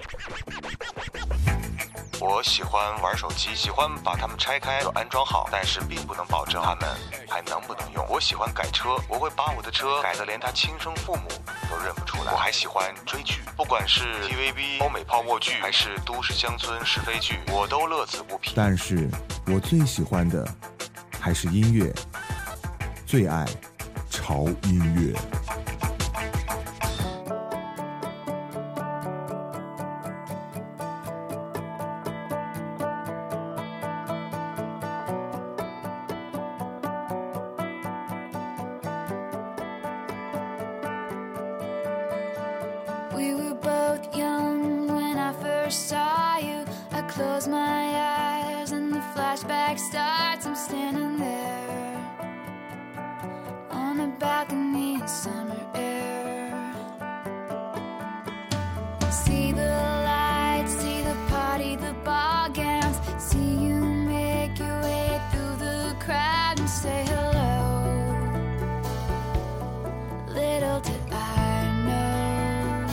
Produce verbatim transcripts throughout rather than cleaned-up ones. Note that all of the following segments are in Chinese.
我喜欢玩手机，喜欢把它们拆开又安装好，但是并不能保证它们还能不能用。我喜欢改车，我会把我的车改得连他亲生父母都认不出来。我还喜欢追剧，不管是 T V B 欧美泡沫剧还是都市乡村是非剧，我都乐此不疲。 但是我最喜欢的还是音乐，最爱潮音乐。 We were both young when I first saw you. I close my eyes and the flashback starts. I'm standing there on a balcony in summer air. See the lights, see the party, the ball gowns. See you make your way through the crowd and say hello. Little did I know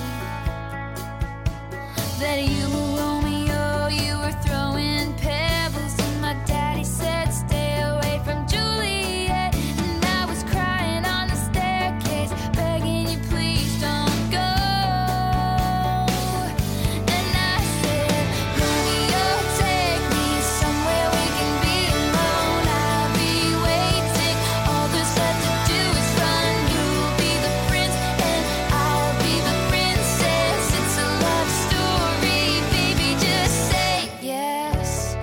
that you were Romeo, you were throwing pebbles, and my daddy said stay away from Juliet, and I was crying on the staircase, begging you please don't go. And I said, Romeo, take me somewhere we can be alone. I'll be waiting, all there's left to do is run. You'll be the prince and I'll be the princess. It's a love story, baby, just say yes.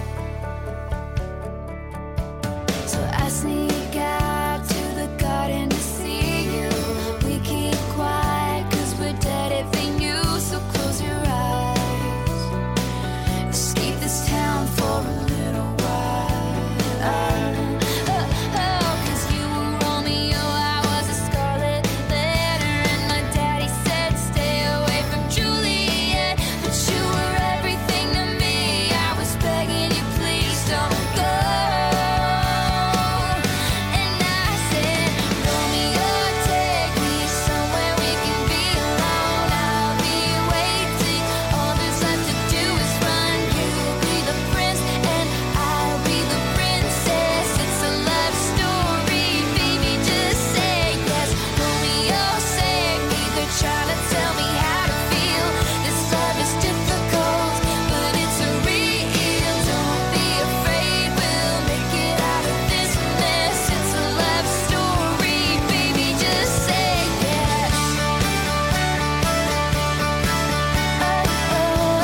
So I sneak out to the garden to see you. We keep quiet cause we're dead if they knew. So close your eyes, escape this town for a little while. Oh, oh, cause you were Romeo, I was a scarlet letter, and my daddy said stay away from Juliet, but you were everything to me. I was begging you please don't go. And I said, Romeo, take me somewhere we can be alone. I'll be waiting, all there's left to do is run. You'll be the prince and I'll be the princess. It's a love story, baby, just say yes. Romeo, save me, they're trying to tell me how to feel. This love is difficult, but it's real. Don't be afraid, we'll make it out of this mess. It's a love story, baby, just say yes. Oh,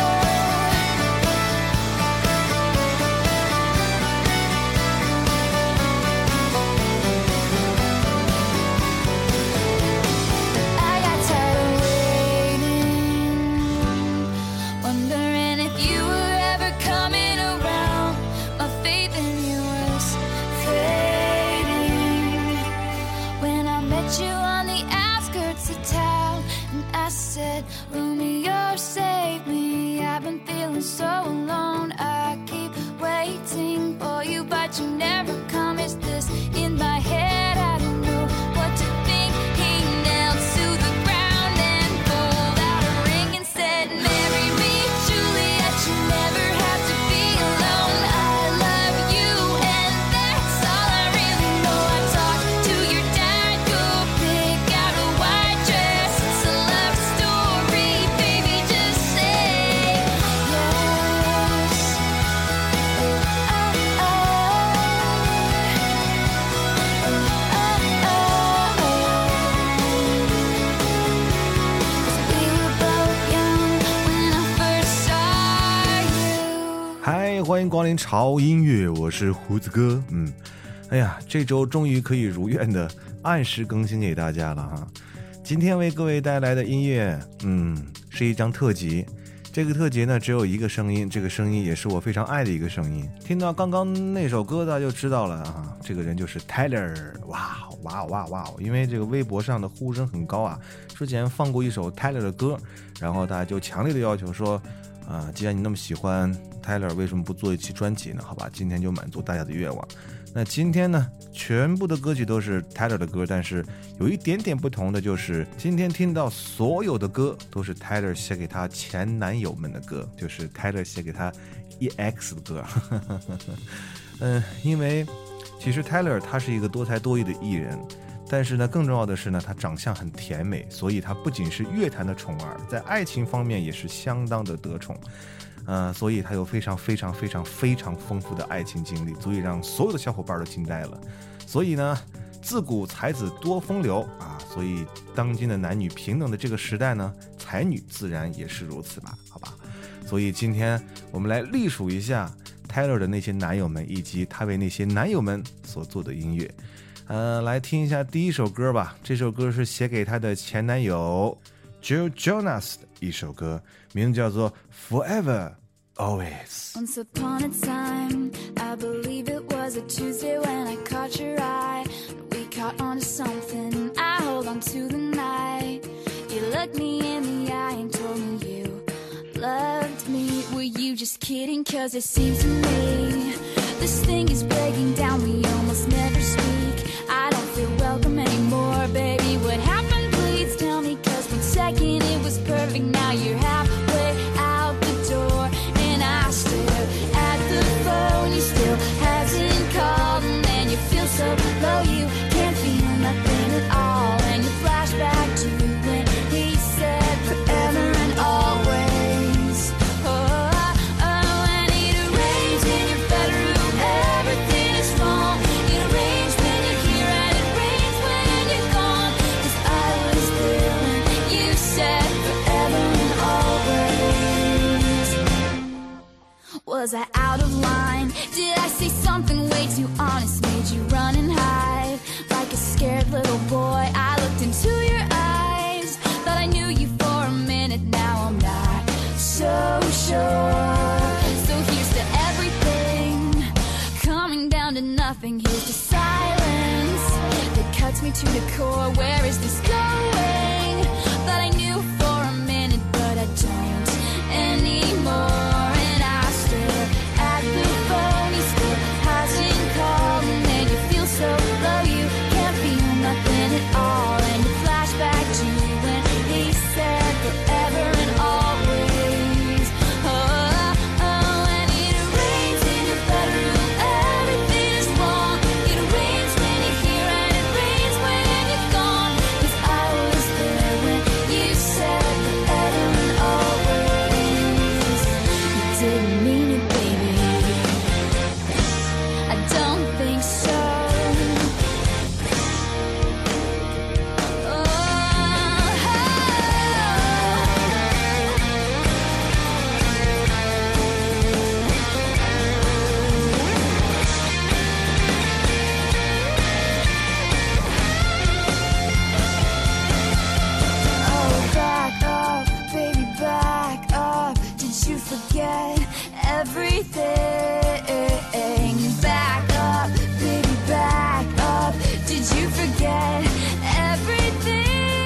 I got tired of waiting, wondering if you were ever coming around. My faith in you was fading when I met you on the outskirts of town, and I said, Romeo, save me. I've been feeling so alone. I keep waiting for you, but you never come. Is this in my head? I don't know what to think. He knelt to the ground and pulled out a ring and said, marry me, Juliet. You never have to be alone. I love you, and that's all I really know. I talked to your dad, go pick out a white dress. It's a love story, baby, just say yes. Oh, we were both young when I first saw you. 嗨，欢迎光临潮音乐，我是胡子哥。嗯，哎呀，这周终于可以如愿的按时更新给大家了哈。今天为各位带来的音乐，嗯，是一张特辑。这个特辑呢，只有一个声音，这个声音也是我非常爱的一个声音。听到刚刚那首歌，大家就知道了啊，这个人就是 Tyler。哇哇哇哇！因为这个微博上的呼声很高啊，之前放过一首 Tyler 的歌，然后大家就强烈的要求说。 啊，既然你那么喜欢 Tyler， 为什么不做一期专辑呢？好吧，今天就满足大家的愿望。那今天呢，全部的歌曲都是 Tyler 的歌，但是有一点点不同的就是，今天听到所有的歌都是 Tyler 写给他前男友们的歌，就是 Tyler 写给他 E X 的歌。嗯，因为其实 Tyler 他是一个多才多艺的艺人，但是呢，更重要的是呢，他长相很甜美，所以他不仅是乐坛的宠儿，在爱情方面也是相当的得宠。呃，所以他有非常非常非常非常丰富的爱情经历，足以让所有的小伙伴都惊呆了。所以呢，自古才子多风流啊，所以当今的男女平等的这个时代呢，才女自然也是如此吧，好吧。所以今天我们来历数一下 Tyler 的那些男友们，以及他为那些男友们所做的音乐。呃，来听一下第一首歌吧，这首歌是写给他的前男友 Joe Jonas 的一首歌，名字叫做 Forever Always. Once upon a time, I believe it was a Tuesday when I caught your eye. We caught on to something, I hold on to the night. You looked me in the eye and told me you loved me. Were you just kidding? Cause it seems to me this thing is breaking down, we almost never speak. I don't feel welcome anymore, baby. What happened? Please tell me, cause one second it was perfect, now you're halfway out the door. And I stare at the phone, you still hasn't called. And then you feel so low, you can't feel nothing at all. And you flash back to when he said forever and always. Oh, oh, and it rains in your bedroom, everything is wrong. It rains when you're here and it rains when you're gone. Cause I was there when you said forever and always. Was I out of line? Did I say something way too honest? Made you run and hide like a scared little boy. I looked into your eyes, thought I knew you for a minute. Now I'm not so sure. So here's to everything coming down to nothing. Here's to silence that cuts me to the core. Where is this going? Thought I knew for a minute, but I don't anymore. And I stare at the phone, he still hasn't called. And then you feel so low, you can't feel nothing at all. And you flash back to when he said forever and always. Oh, oh, and it rains in your bedroom, everything is wrong. It rains when you're here and it rains when you're gone. Cause I was there when you said forever and always. You didn't mean it, baby. I don't think so. Oh, back up, baby, back up. Did you forget everything? Back up, baby, back up. Did you forget everything?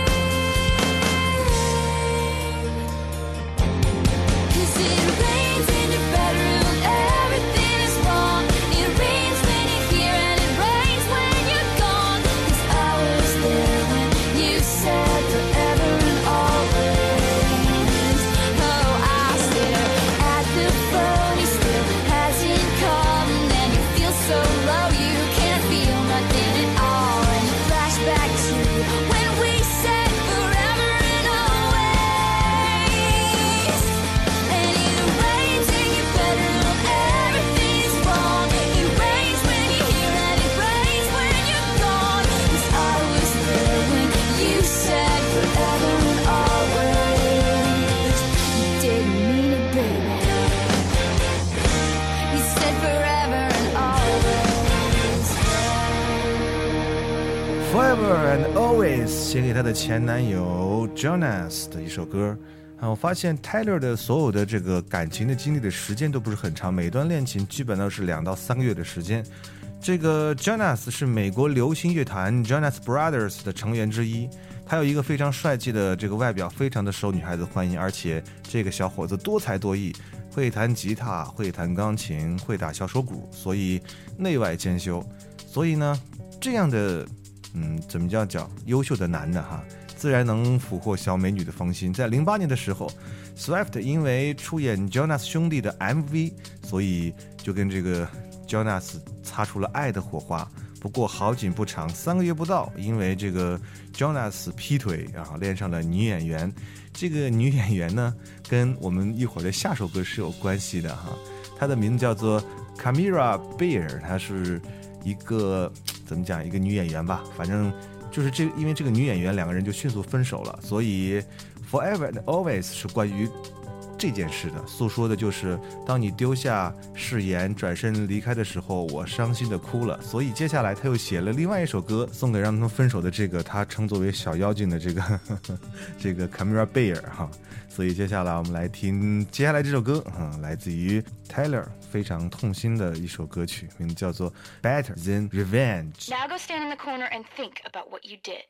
Cause it rains in your bedroom, everything is wrong. It rains when you're here and it rains when you're gone. Cause I was there when you said forever and always. Oh, I stare at the phone, he still hasn't called. And then you feel so low, you can't feel nothing at all. And you flash back to when we said forever and always. And it rains in your bedroom, everything is wrong. It rains when you're here and it rains when you're gone. Cause I was there when you said forever and always. You didn't mean it, baby. You said forever and always. Forever and Always 写给他的前男友 Jonas 的一首歌。啊，我发现 Tyler 的所有的这个感情的经历的时间都不是很长，每段恋情基本都是两到三个月的时间。这个 Jonas 是美国流行乐坛 Jonas Brothers 的成员之一， 他有一个非常帅气的这个外表，非常的受女孩子欢迎，而且这个小伙子多才多艺，会弹吉他，会弹钢琴，会打小手鼓，所以内外兼修。所以呢，这样的嗯，怎么叫叫优秀的男的哈，自然能俘获小美女的芳心。在零八年的时候 Swift 因为出演 Jonas 兄弟的 M V， 所以就跟这个 Jonas 擦出了爱的火花。不过好景不长，三个月不到，因为这个 Jonas 劈腿啊，恋上了女演员。这个女演员呢，跟我们一会儿的下首歌是有关系的哈。她的名字叫做 Camila Beer， 她是一个怎么讲，一个女演员吧，反正就是这，因为这个女演员两个人就迅速分手了，所以 Forever and Always 是关于这件事的，诉说的就是当你丢下誓言转身离开的时候，我伤心的哭了。所以接下来他又写了另外一首歌送给让他们分手的这个他称作为小妖精的这个呵呵这个 Camila Beer 哈。所以接下来我们来听接下来这首歌啊，来自于 Taylor 非常痛心的一首歌曲，名字叫做 Better Than Revenge。 Now go stand in the corner and think about what you did.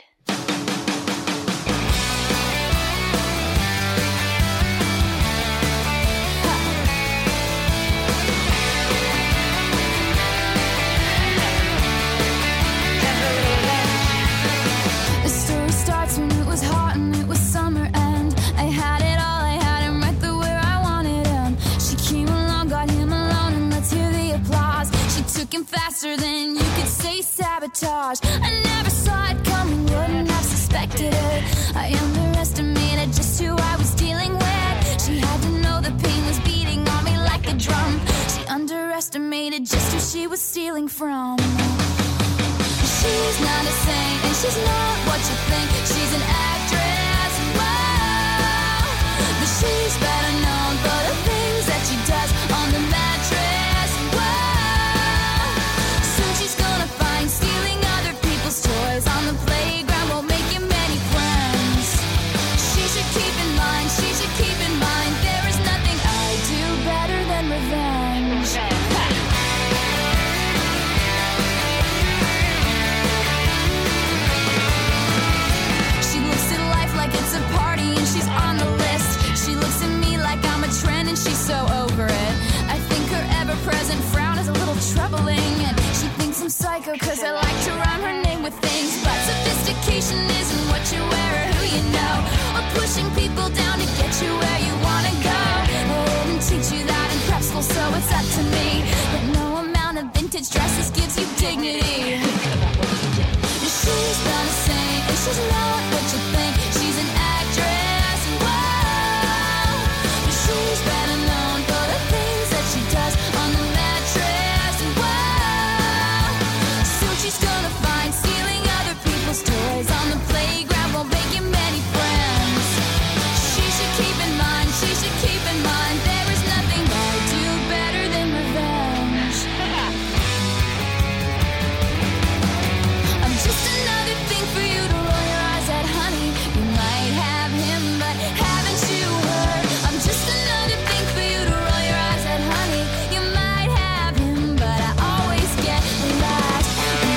Faster than you could say sabotage. I never saw it coming, wouldn't have suspected it. I underestimated just who I was dealing with. She had to know the pain was beating on me like a drum. She underestimated just who she was stealing from. She's not a saint and she's not what you think. She's an actress, wow. But she's better known for the things that she does on the mattress. Stealing other people's toys on the playground won't make you many friends. She should keep in mind, she should keep in mind, there is nothing I do better than revenge. She looks at life like it's a party and she's on the list. She looks at me like I'm a trend and she's so over it. I think her ever-present frown is a little troubling, and she thinks I'm psycho cause I like to rhyme her name with things. But sophistication isn't what you wear or who you know, or pushing people down to get you where you wanna go. I didn't teach you that in prep school, so it's up to me. But no amount of vintage dresses gives you dignity. She's not a saint and she's not what you think. She's an actress, wow. But she's better known for the things that she does on the mattress, wow. Soon she's gonna find stealing other people's toys on the playground won't make you many friends. She should keep in mind, she should keep in mind, there is nothing I do better than revenge. I'm just another thing for you to roll your eyes at, honey. You might have him, but haven't you heard? I'm just another thing for you to roll your eyes at, honey. You might have him, but I always get last.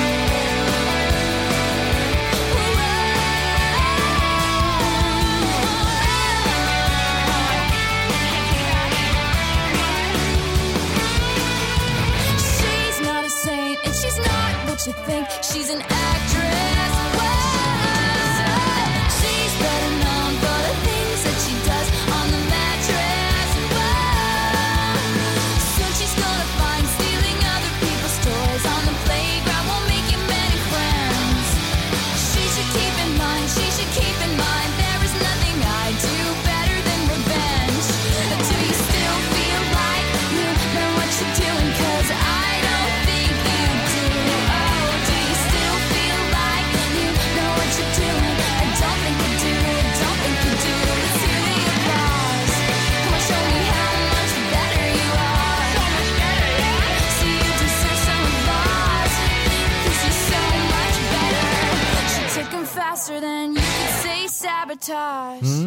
She's not a saint and she's not what you think. She's an actress, wow. She's better known for the things that she does on the mattress, wow. Soon she's gonna find stealing other people's toys on the playground won't make you many friends. She should keep in mind, she should keep in mind, there is nothing I do better than revenge. Do you still feel like you know what you're doing? Cause I don't think you do. Oh, do you still feel like you know what you're doing? I don't think you do, don't think you do. Let's hear the applause. Come on, show me how much better you are. So much better, yeah. So you deserve some applause, cause you're so much better. She took him faster than you could say sabotage. 嗯，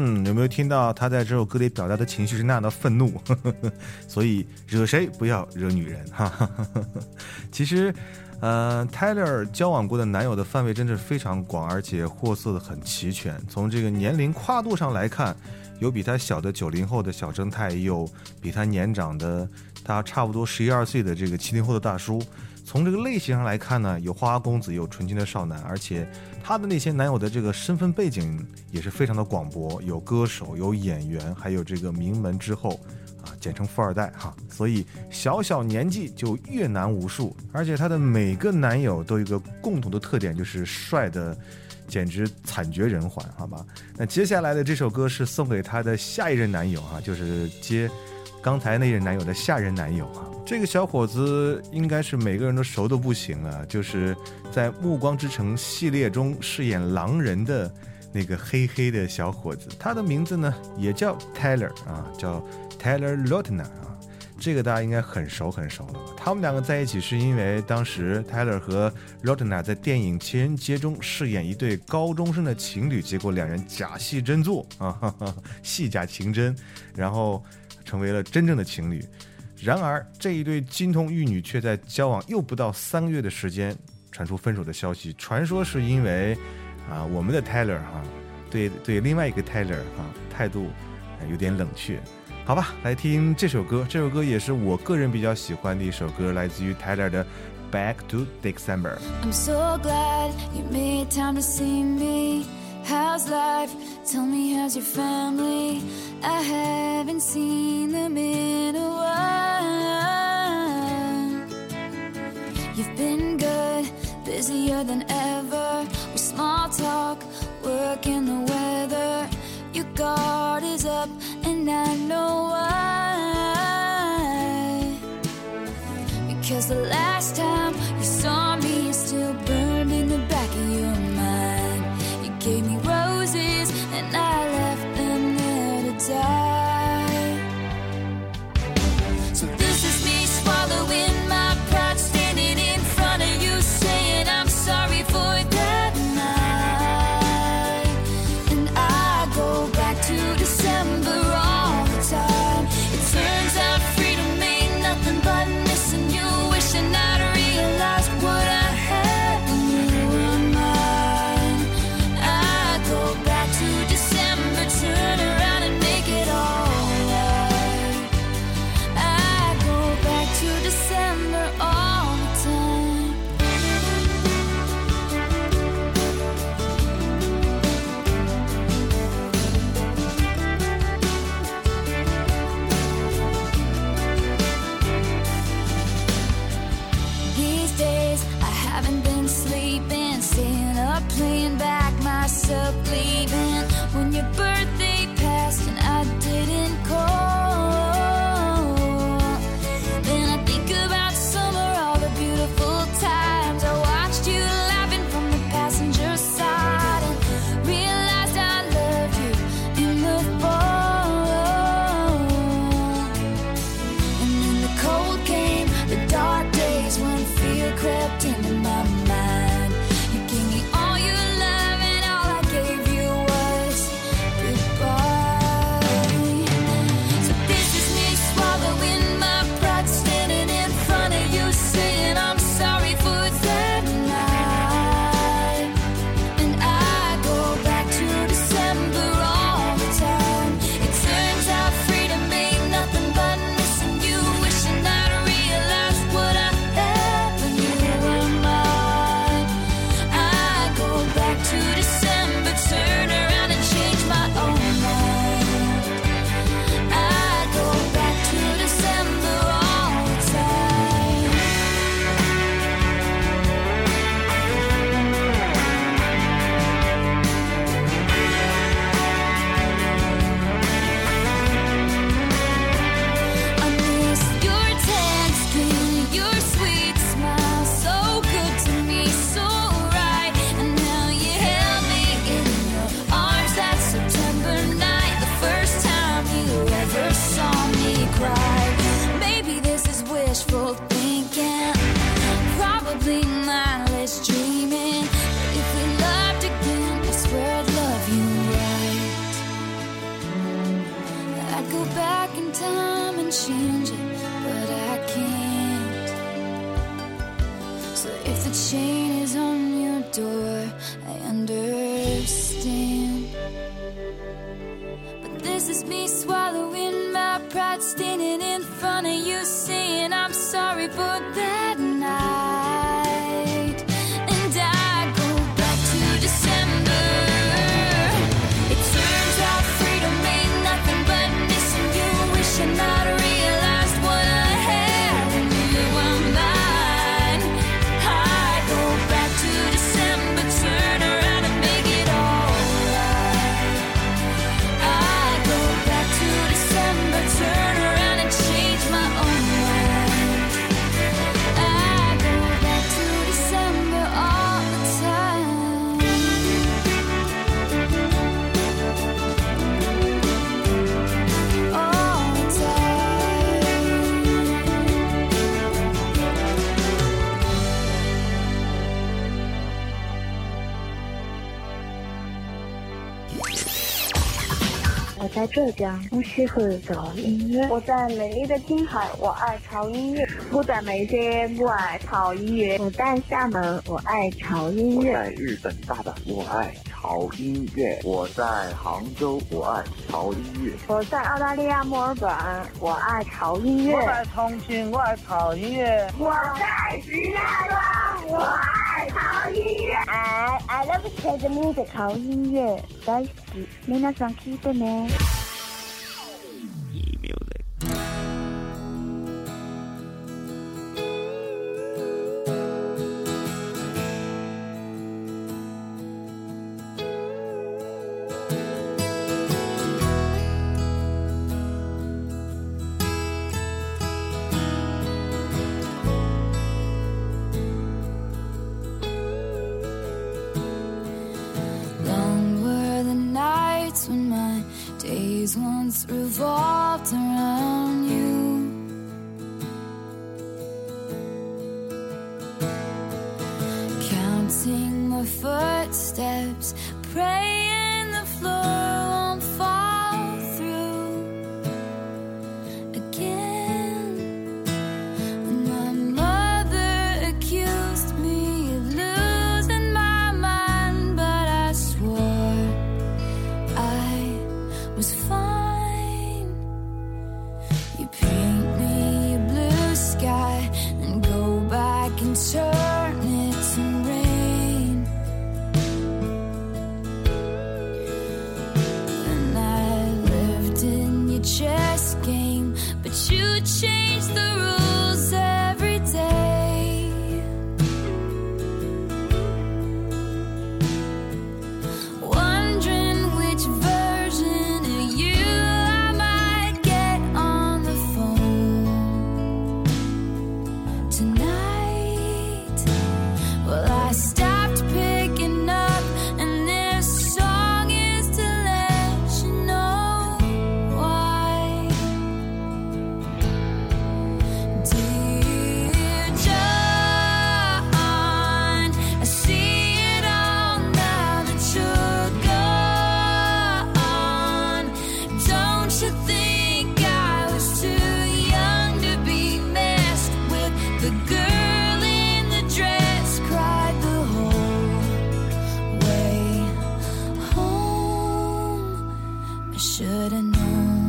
嗯，有没有听到他在这首歌里表达的情绪是那样的愤怒？所以惹谁不要惹女人哈。其实呃 Tyler 交往过的男友的范围真是非常广，而且货色的很齐全。从这个年龄跨度上来看，有比他小的九零后的小正太，有比他年长的他差不多十一二岁的这个七零后的大叔。从这个类型上来看呢，有花花公子，有纯情的少男，而且他的那些男友的这个身份背景也是非常的广博，有歌手，有演员，还有这个名门之后啊，简称富二代哈。所以小小年纪就越男无数，而且他的每个男友都有一个共同的特点，就是帅的简直惨绝人寰，好吧？那接下来的这首歌是送给他的下一任男友哈，就是接刚才那任男友的下任男友哈。这个小伙子应该是每个人都熟都不行了，就是在《暮光之城》系列中饰演狼人的那个黑黑的小伙子，他的名字呢也叫 Tyler 啊，叫 Tyler Lautner 啊，这个大家应该很熟很熟了吧？他们两个在一起是因为当时 Tyler 和 Lautner 在电影《情人节》中饰演一对高中生的情侣，结果两人假戏真做啊，哈哈，戏假情真，然后成为了真正的情侣。然而这一对金童玉女却在交往又不到三个月的时间传出分手的消息，传说是因为啊我们的 Tyler 哈、啊、对对另外一个 Tyler 哈、啊、态度、啊、有点冷却。好吧，来听这首歌，这首歌也是我个人比较喜欢的一首歌，来自于 Tyler 的 Back to December。 I'm so glad you made time to see me. How's life? Tell me, how's your family? I haven't seen them in a while. You've been good, busier than ever, with small talk, work and the weather. Your guard is up and I know why. Because the last time you saw me is still burned in the back of your mind. You gave me roses and I left them there to die. So this is me swallowing my pride, standing in front of you saying I'm sorry for that night. And I go back to December all the time. It turns out freedom ain't nothing but missing you, wishing I back in time and change it, but I can't. So if the chain is on your door, I understand. But this is me swallowing my pride, standing in front of you, saying I'm sorry for that night. And I go back to December. It turns out freedom ain't nothing but missing you, wishing I'd realized what I had when you were mine. I go back to December, turn around and make it alright. I go back to December, turn around and change my own mind. I go back to December all the time. All the time. 我在浙江，我喜欢找音乐。 我在美丽的青海，我爱潮音乐。 我在梅街，我爱潮音乐。我在厦门，我爱潮音乐。 我在日本大阪，我爱潮音乐。我在杭州，我爱潮音乐。 我在澳大利亚墨尔本，我爱潮音乐。 我在重庆，我爱潮音乐。 我在石家庄，我爱潮音乐。 I I love the music， 潮音乐大好き。皆さん聞いてね。 Long were the nights when my days once revolved around you. Counting my footsteps, praying the floor won't fall through again. When my mother accused me of losing my mind, but I swore I was fine. You paint me a blue sky and go back and turn it to rain. And I lived in your chess game, but you changed the rules every day. Wondering which version of you I might get on the phone tonight. Well, I stopped picking up, and this song is to let you know why. Dear John, I see it all now that you're gone. Don't you think I was too young to be messed with? The girl in the dress cried the whole way home. I should have known.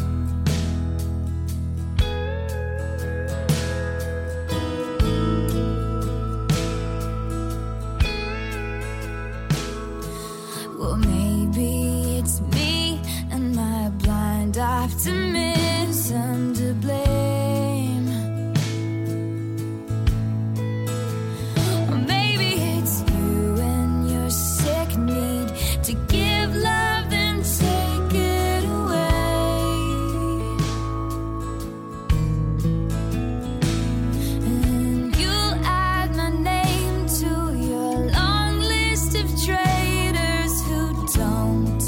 Well, maybe it's me and my blind optimism to blame. Or maybe it's you and your sick need to give love and take it away. And you'll add my name to your long list of traitors who don't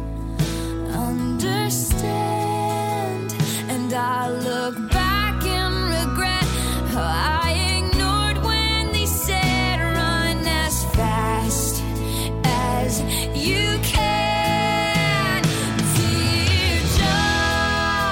understand. And I look back and regret how I ignored when they said run as fast as you can. Dear John,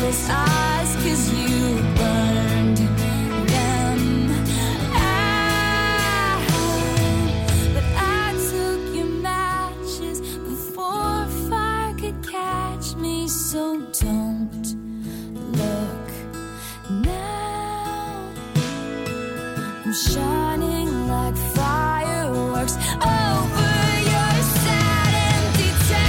his eyes, 'cause you burned them out. But I took your matches before fire could catch me, so don't look now. I'm shining like fireworks over your sad empty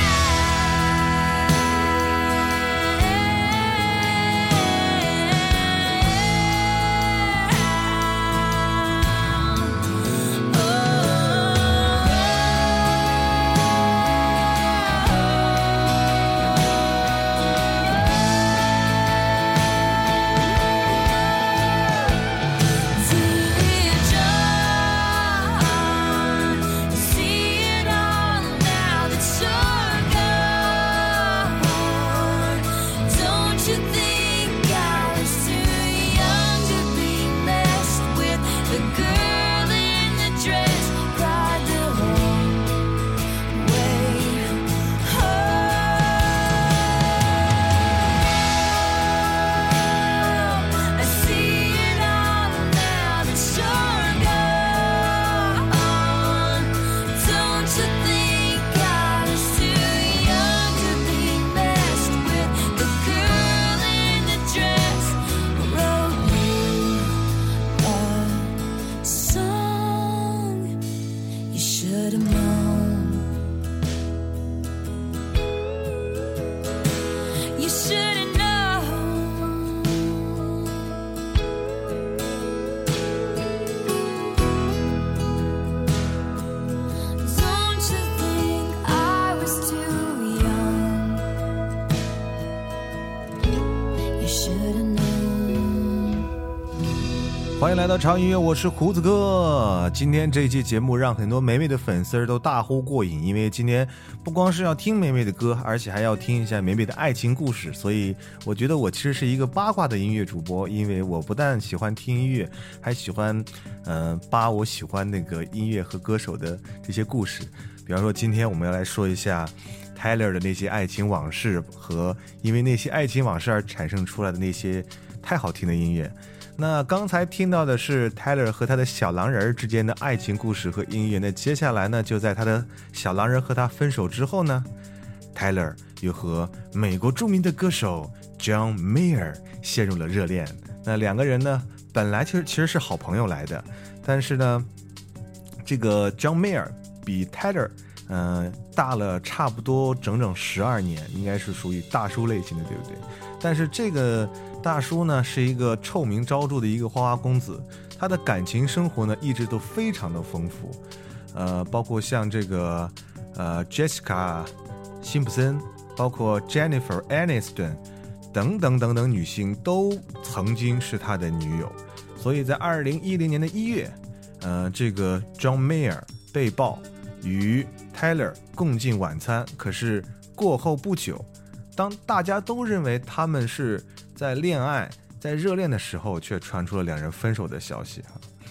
should've known. 欢迎来到潮音乐，我是胡子哥。今天这一期节目让很多美美的粉丝都大呼过瘾，因为今天不光是要听美美的歌，而且还要听一下美美的爱情故事。所以我觉得我其实是一个八卦的音乐主播，因为我不但喜欢听音乐，还喜欢嗯、呃、扒我喜欢那个音乐和歌手的这些故事。比方说今天我们要来说一下 Tyler 的那些爱情往事，和因为那些爱情往事而产生出来的那些太好听的音乐。那刚才听到的是 Tyler 和他的小狼人之间的爱情故事和音乐，那接下来呢，就在他的小狼人和他分手之后呢， Tyler 又和美国著名的歌手 John Mayer 陷入了热恋。那两个人呢本来其实其实是好朋友来的，但是呢这个 John Mayer 比 Tyler 呃大了差不多整整十二年，应该是属于大叔类型的，对不对？但是这个大叔呢是一个臭名昭著的一个花花公子，他的感情生活呢一直都非常的丰富，呃，包括像这个呃 Jessica 辛普森，包括 Jennifer Aniston 等等等等女星都曾经是他的女友。所以在二零一零年的一月，呃，这个 John Mayer 被曝与 Tyler 共进晚餐，可是过后不久，当大家都认为他们是在恋爱在热恋的时候，却传出了两人分手的消息。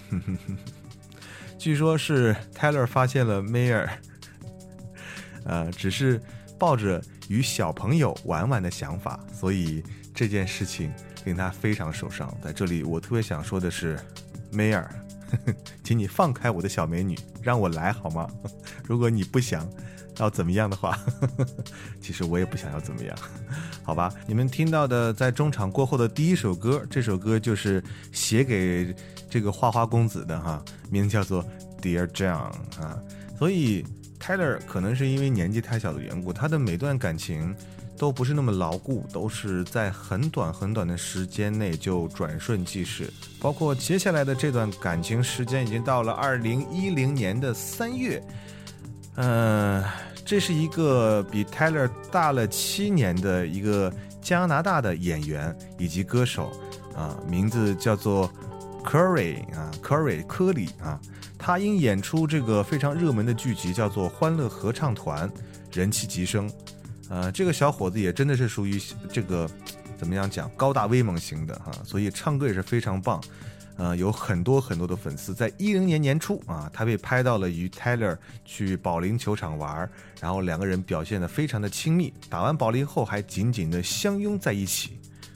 据说是 Tyler 发现了 Mayer 呃，只是抱着与小朋友玩玩的想法，所以这件事情令他非常受伤。在这里我特别想说的是 Mayer 请你放开我的小美女，让我来好吗？如果你不想要怎么样的话，其实我也不想要怎么样，好吧？你们听到的在中场过后的第一首歌，这首歌就是写给这个花花公子的哈，名字叫做 Dear John 啊。所以 Tyler 可能是因为年纪太小的缘故，他的每段感情都不是那么牢固，都是在很短很短的时间内就转瞬即逝。包括接下来的这段感情时间已经到了二零一零年的三月，呃，这是一个比 Tyler 大了七年的一个加拿大的演员以及歌手啊，名字叫做 Curry 啊 ，Curry 科里啊。他因演出这个非常热门的剧集叫做《欢乐合唱团》，人气急升。呃，这个小伙子也真的是属于这个怎么样讲高大威猛型的哈，所以唱歌也是非常棒。呃，有很多很多的粉丝。在一零年年初啊，他被拍到了与 Tyler 去保龄球场玩，然后两个人表现得非常的亲密，打完保龄后还紧紧的相拥在一起。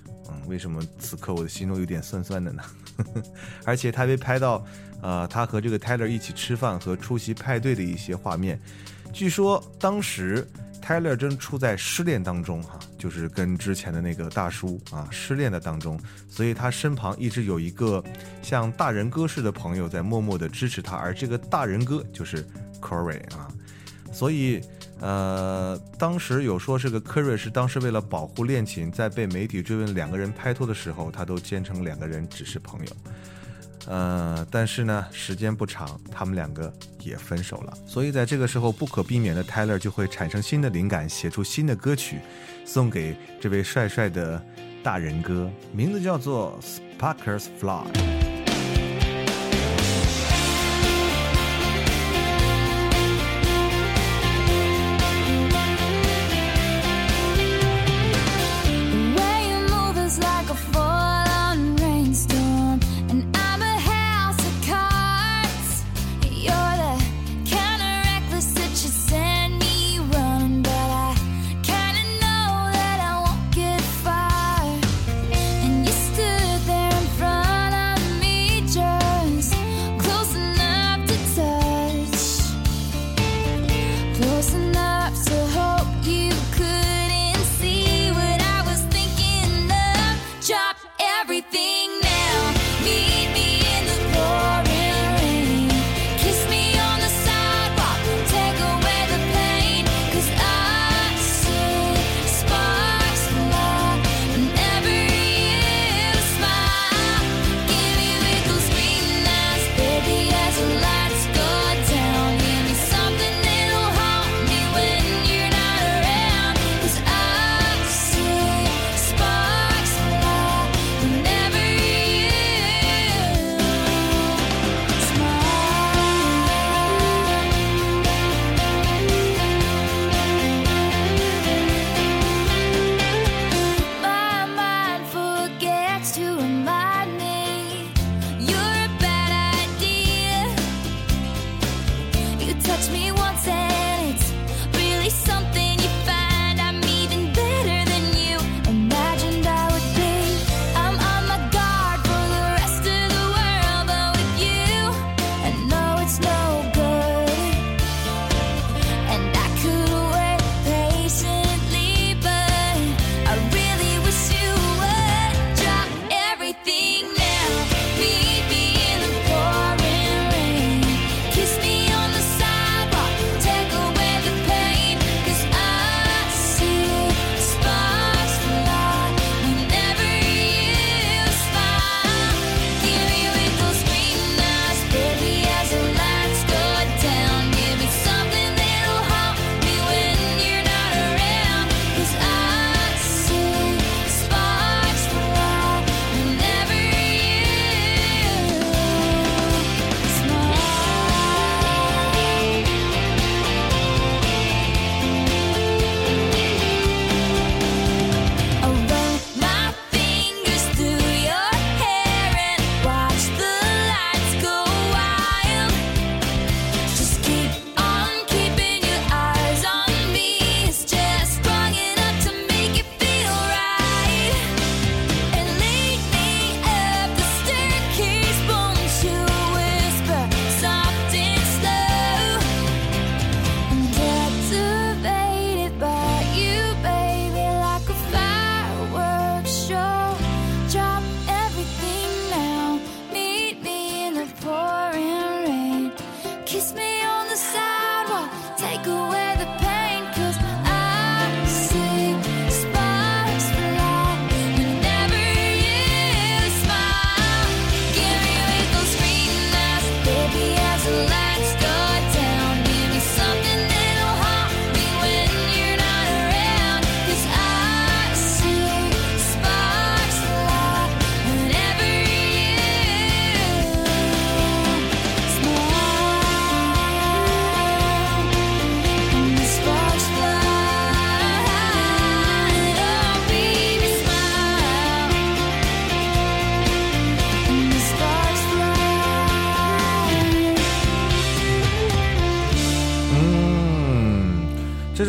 为什么此刻我的心中有点酸酸的呢？而且他被拍到呃，他和这个 Tyler 一起吃饭和出席派对的一些画面。据说当时 Tyler 正处在失恋当中哈、啊，就是跟之前的那个大叔啊失恋的当中，所以他身旁一直有一个像大人哥似的朋友在默默的支持他，而这个大人哥就是 Corey 啊，所以呃，当时有说这个 Corey 是当时为了保护恋情，在被媒体追问两个人拍拖的时候，他都坚称两个人只是朋友。呃，但是呢，时间不长，他们两个也分手了。所以在这个时候，不可避免的 Tyler 就会产生新的灵感，写出新的歌曲，送给这位帅帅的大人哥，名字叫做 Sparkers Fly。Drop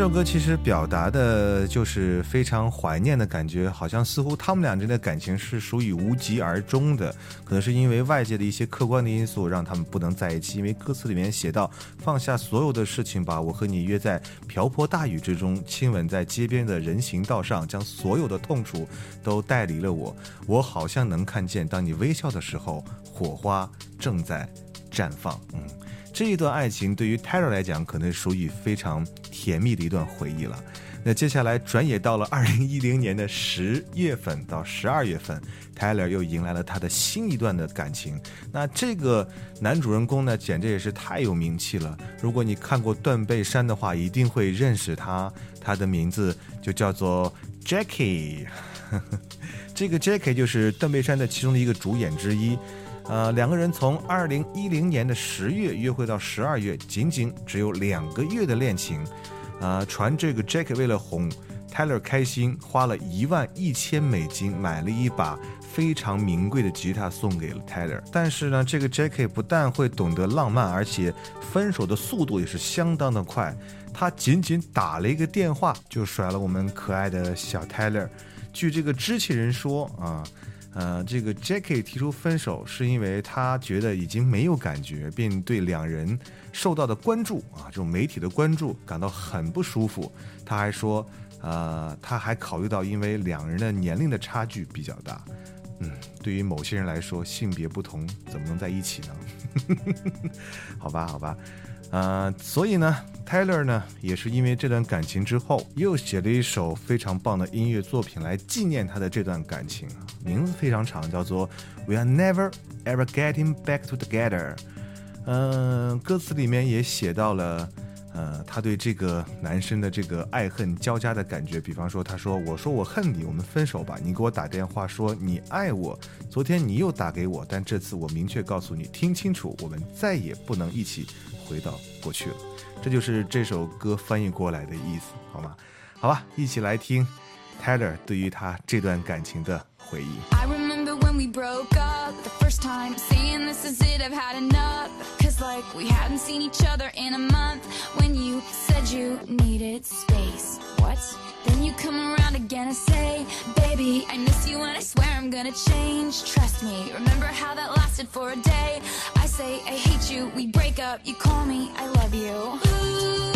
首歌其实表达的就是非常怀念的感觉，好像似乎他们俩之间的感情是属于无疾而终的，可能是因为外界的一些客观的因素让他们不能在一起。因为歌词里面写到，放下所有的事情吧，我和你约在瓢泼大雨之中，亲吻在街边的人行道上，将所有的痛楚都带离了我。我好像能看见，当你微笑的时候，火花正在绽放。嗯，这一段爱情对于 Taylor 来讲可能属于非常甜蜜的一段回忆了。那接下来转眼到了二零一零年的十月份到十二月份， Taylor 又迎来了他的新一段的感情。那这个男主人公呢，简直也是太有名气了，如果你看过断背山的话，一定会认识他，他的名字就叫做 Jackie 这个 Jackie 就是断背山的其中的一个主演之一。呃，两个人从二零一零年的十月约会到十二月，仅仅只有两个月的恋情。呃，传这个 Jackie 为了哄 Taylor 开心，花了一万一千美金买了一把非常名贵的吉他送给了 Taylor。但是呢，这个 Jackie 不但会懂得浪漫，而且分手的速度也是相当的快。他仅仅打了一个电话就甩了我们可爱的小 Taylor。据这个知情人说啊。呃，这个 Jackie 提出分手是因为他觉得已经没有感觉，并对两人受到的关注啊，这种媒体的关注感到很不舒服。他还说，呃，他还考虑到因为两人的年龄的差距比较大。嗯，对于某些人来说，性别不同怎么能在一起呢？好吧，好吧。呃，所以呢 Taylor 呢也是因为这段感情之后又写了一首非常棒的音乐作品来纪念他的这段感情，名字非常长，叫做 We are never ever getting back to together。 呃，歌词里面也写到了呃，他对这个男生的这个爱恨交加的感觉。比方说他说，我说我恨你，我们分手吧，你给我打电话说你爱我，昨天你又打给我，但这次我明确告诉你，听清楚，我们再也不能一起回到过去了。这就是这首歌翻译过来的意思，好吗？好吧，一起来听 Taylor 对于他这段感情的回忆。 I remember when we broke up the first time, saying this is it, I've had enough. Cause like we hadn't seen each other in a month. When you said you needed space, what? Then you come around again and say, baby, I miss you and I swear I'm gonna change. Trust me, remember how that lasted for a day? I say I hate you, we break up, you call me, I love you. Ooh.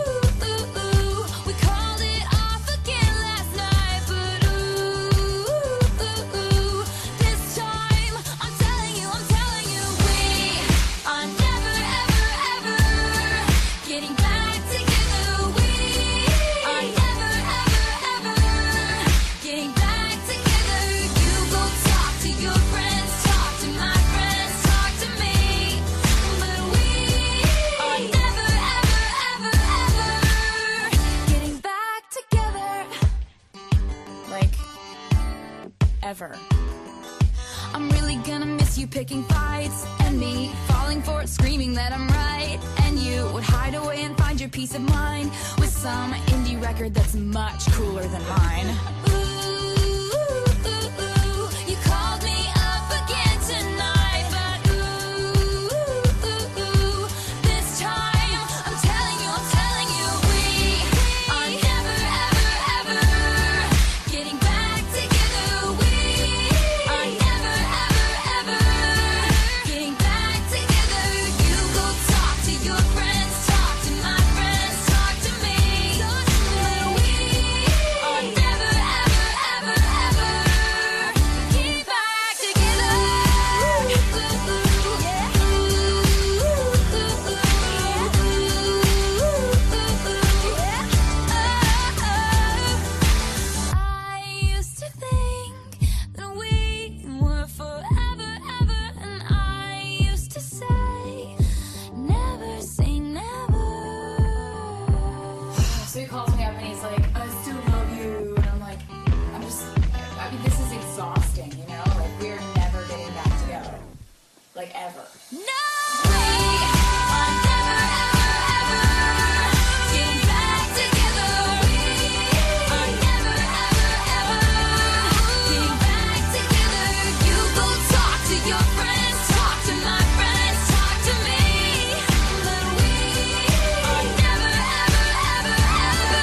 Ever. I'm really gonna miss you picking fights and me falling for it, screaming that I'm right, and you would hide away and find your peace of mind with some indie record that's much cooler than mine. Ooh, ooh, ooh, you called me up again tonight, but ooh, ooh, ooh, this time I'm telling you, I'm telling you, we are never, ever, ever getting back together. Ever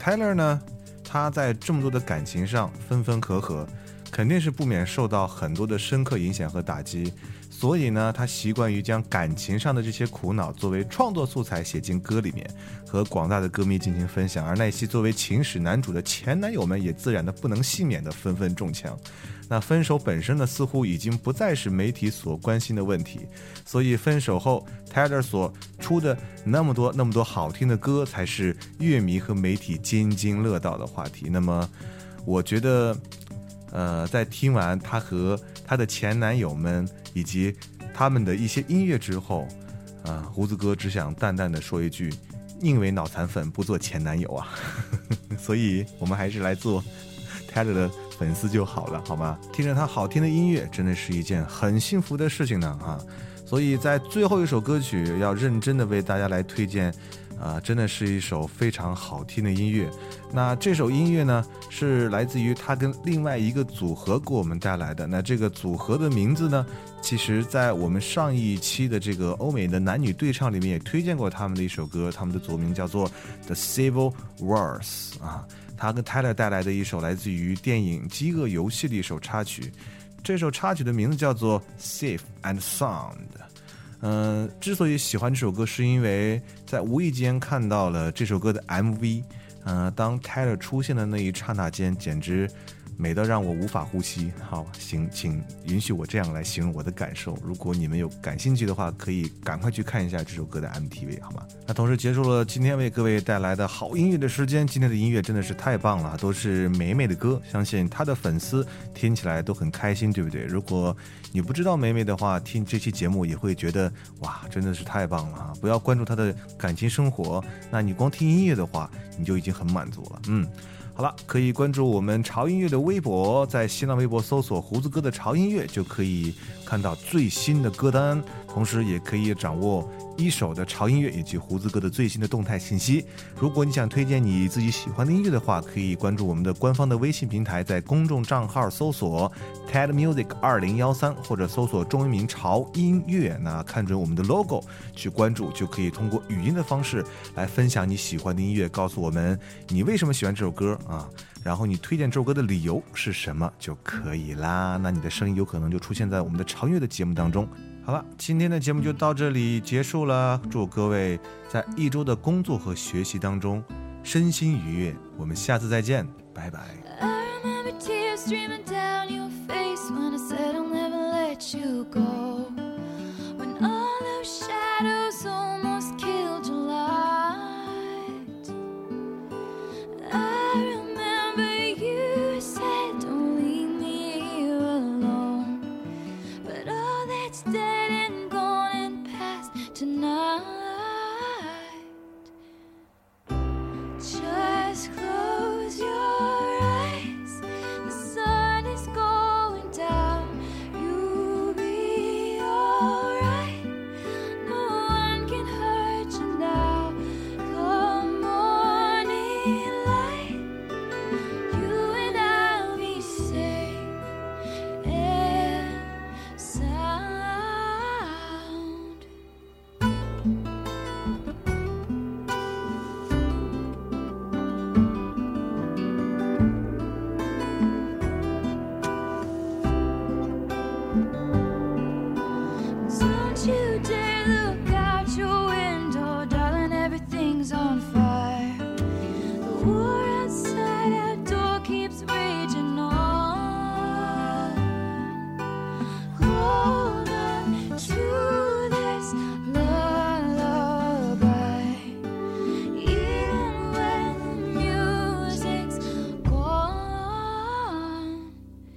Tyler 呢，他在这么多的感情上分分合合，肯定是不免受到很多的深刻影响和打击，所以呢，他习惯于将感情上的这些苦恼作为创作素材写进歌里面，和广大的歌迷进行分享。而那些作为情史男主的前男友们也自然的不能幸免的纷纷中枪。那分手本身呢，似乎已经不再是媒体所关心的问题，所以分手后 Tyler 所出的那么多那么多好听的歌，才是乐迷和媒体津津乐道的话题。那么我觉得呃，在听完他和他的前男友们以及他们的一些音乐之后，呃，胡子哥只想淡淡的说一句，宁为脑残粉不做前男友啊。所以我们还是来做 Tyler 的粉丝就好了，好吗？听着他好听的音乐真的是一件很幸福的事情呢啊！所以在最后一首歌曲要认真的为大家来推荐啊、呃，真的是一首非常好听的音乐。那这首音乐呢，是来自于他跟另外一个组合给我们带来的。那这个组合的名字呢，其实在我们上一期的这个欧美的男女对唱里面也推荐过他们的一首歌，他们的组名叫做 The Civil Wars 啊。他跟 Tyler 带来的一首来自于电影《饥饿游戏》的一首插曲，这首插曲的名字叫做 Safe and Sound。嗯、呃，之所以喜欢这首歌，是因为在无意间看到了这首歌的 M V。呃，当 Tyler 出现的那一刹那间，简直美到让我无法呼吸。好，行，请允许我这样来形容我的感受。如果你们有感兴趣的话，可以赶快去看一下这首歌的 M T V， 好吗？那同时结束了今天为各位带来的好音乐的时间。今天的音乐真的是太棒了，都是美美的歌，相信他的粉丝听起来都很开心，对不对？如果你不知道美美的话，听这期节目也会觉得哇，真的是太棒了啊！不要关注他的感情生活，那你光听音乐的话，你就已经很满足了。嗯。好了，可以关注我们潮音乐的微博，在新浪微博搜索胡子哥的潮音乐，就可以看到最新的歌单，同时也可以掌握一手的潮音乐以及胡子哥的最新的动态信息。如果你想推荐你自己喜欢的音乐的话，可以关注我们的官方的微信平台，在公众账号搜索 Ted Music 二零一三，或者搜索中文名潮音乐，那看准我们的 logo 去关注，就可以通过语音的方式来分享你喜欢的音乐，告诉我们你为什么喜欢这首歌啊，然后你推荐这首歌的理由是什么就可以啦。那你的声音有可能就出现在我们的潮音乐的节目当中。好了，今天的节目就到这里结束了，祝各位在一周的工作和学习当中身心愉悦，我们下次再见，拜拜。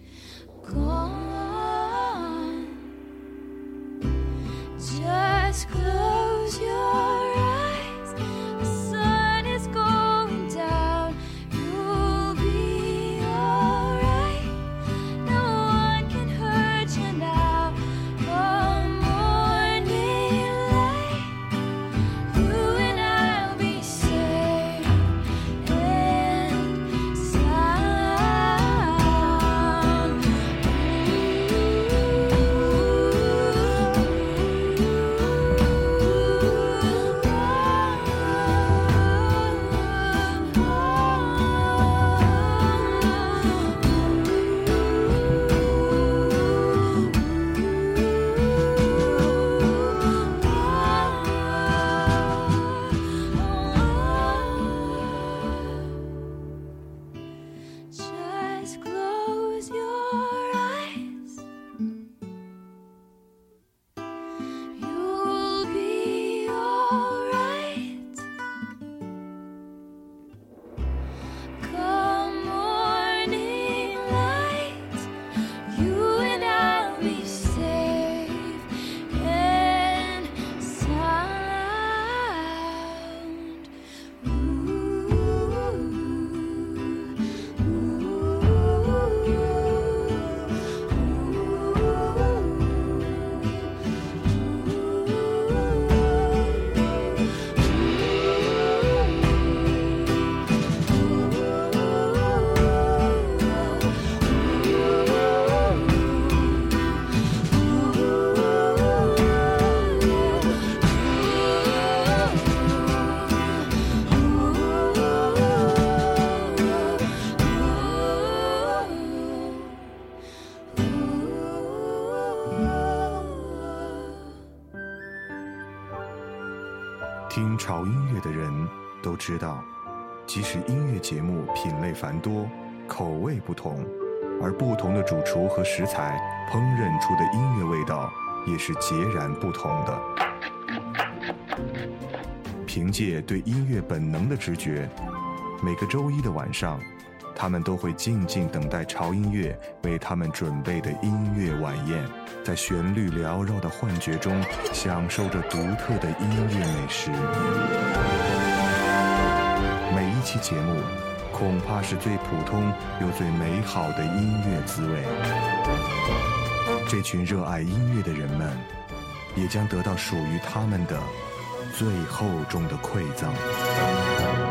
Just 听潮音乐的人都知道，即使音乐节目品类繁多，口味不同，而不同的主厨和食材烹饪出的音乐味道也是截然不同的。凭借对音乐本能的直觉，每个周一的晚上，他们都会静静等待潮音乐为他们准备的音乐晚宴，在旋律缭绕的幻觉中享受着独特的音乐美食。每一期节目恐怕是最普通又最美好的音乐滋味。这群热爱音乐的人们也将得到属于他们的最厚重的馈赠。